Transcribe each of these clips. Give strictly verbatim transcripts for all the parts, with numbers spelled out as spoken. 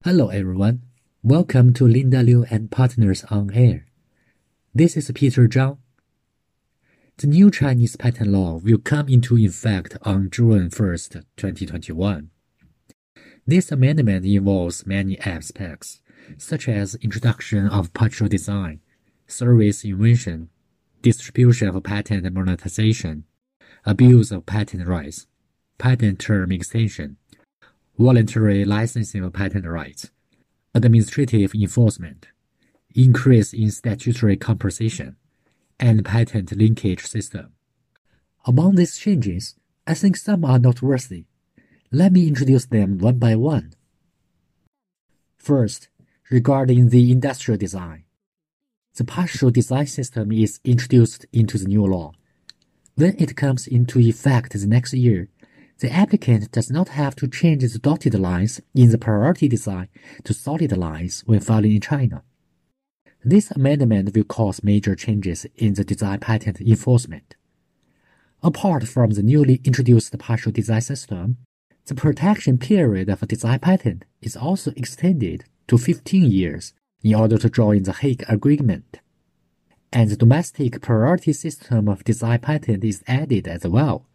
Hello everyone, welcome to Linda Liu and Partners on Air. This is Peter Zhang. The new Chinese patent law will come into effect on June first, twenty twenty-one. This amendment involves many aspects, such as introduction of partial design, service invention, distribution of patent monetization, abuse of patent rights, patent term extension, voluntary licensing of patent rights, administrative enforcement, increase in statutory compensation, and patent linkage system. Among these changes, I think some are noteworthy. Let me introduce them one by one. First, regarding the industrial design. The partial design system is introduced into the new law. When it comes into effect the next year, the applicant does not have to change the dotted lines in the priority design to solid lines when filing in China. This amendment will cause major changes in the design patent enforcement. Apart from the newly introduced partial design system, the protection period of a design patent is also extended to fifteen years in order to join the Hague Agreement, and the domestic priority system of design patent is added as well.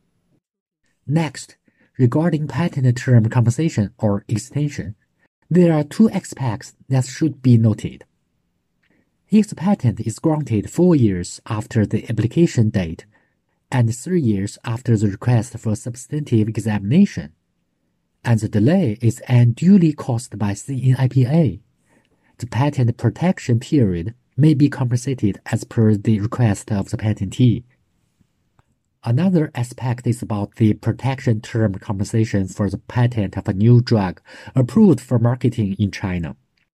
Next, regarding patent term compensation or extension, there are two aspects that should be noted. If the patent is granted four years after the application date and three years after the request for substantive examination, and the delay is unduly caused by C N I P A, the patent protection period may be compensated as per the request of the patentee. Another aspect is about the protection term compensation for the patent of a new drug approved for marketing in China.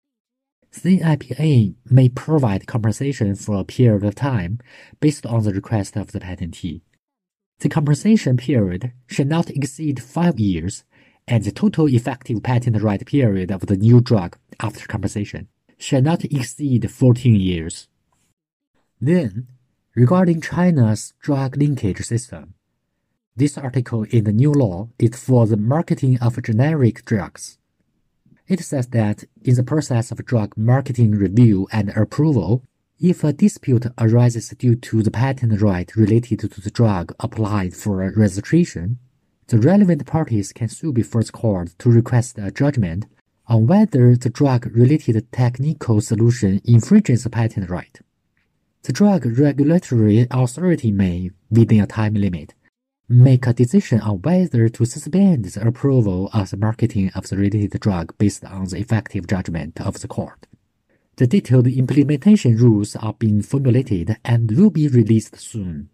C N I P A may provide compensation for a period of time based on the request of the patentee. The compensation period should not exceed five years, and the total effective patent right period of the new drug after compensation should not exceed fourteen years. Then, regarding China's drug linkage system, this article in the new law is for the marketing of generic drugs. It says that in the process of drug marketing review and approval, if a dispute arises due to the patent right related to the drug applied for registration, the relevant parties can sue before the court to request a judgment on whether the drug-related technical solution infringes the patent right. The drug regulatory authority may, within a time limit, make a decision on whether to suspend the approval of the marketing of the related drug based on the effective judgment of the court. The detailed implementation rules are being formulated and will be released soon.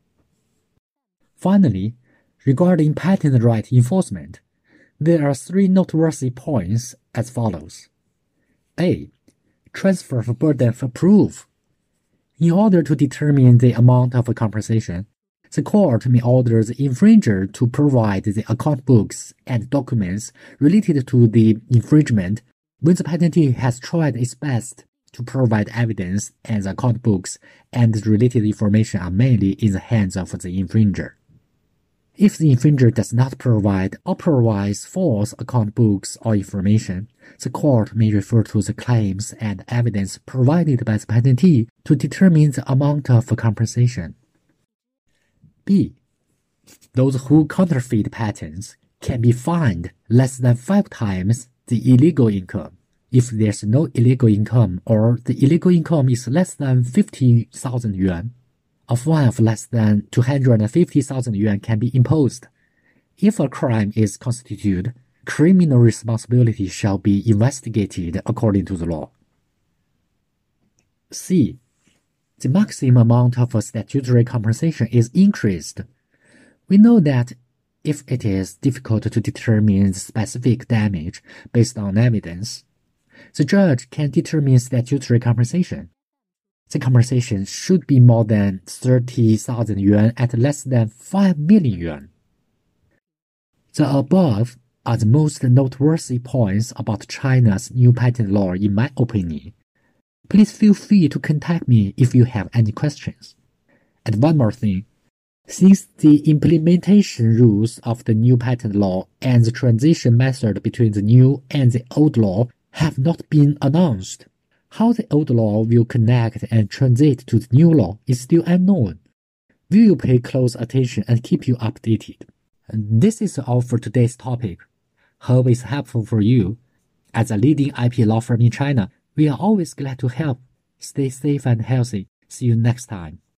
Finally, regarding patent right enforcement, there are three noteworthy points as follows. A. Transfer of burden of proof. In order to determine the amount of compensation, the court may order the infringer to provide the account books and documents related to the infringement when the patentee has tried its best to provide evidence and the account books and the related information are mainly in the hands of the infringer. If the infringer does not provide or provides false account books or information, the court may refer to the claims and evidence provided by the patentee to determine the amount of compensation. B. Those who counterfeit patents can be fined less than five times the illegal income if there's no illegal income or the illegal income is less than fifty thousand yuan. A fine of less than two hundred fifty thousand yuan can be imposed. If a crime is constituted, criminal responsibility shall be investigated according to the law. C. The maximum amount of statutory compensation is increased. We know that if it is difficult to determine the specific damage based on evidence, the judge can determine statutory compensation. The compensation should be more than thirty thousand yuan at less than five million yuan. The above are the most noteworthy points about China's new patent law in my opinion. Please feel free to contact me if you have any questions. And one more thing, since the implementation rules of the new patent law and the transition method between the new and the old law have not been announced. How the old law will connect and transit to the new law is still unknown. We will pay close attention and keep you updated. And this is all for today's topic. Hope it's helpful for you. As a leading I P law firm in China, we are always glad to help. Stay safe and healthy. See you next time.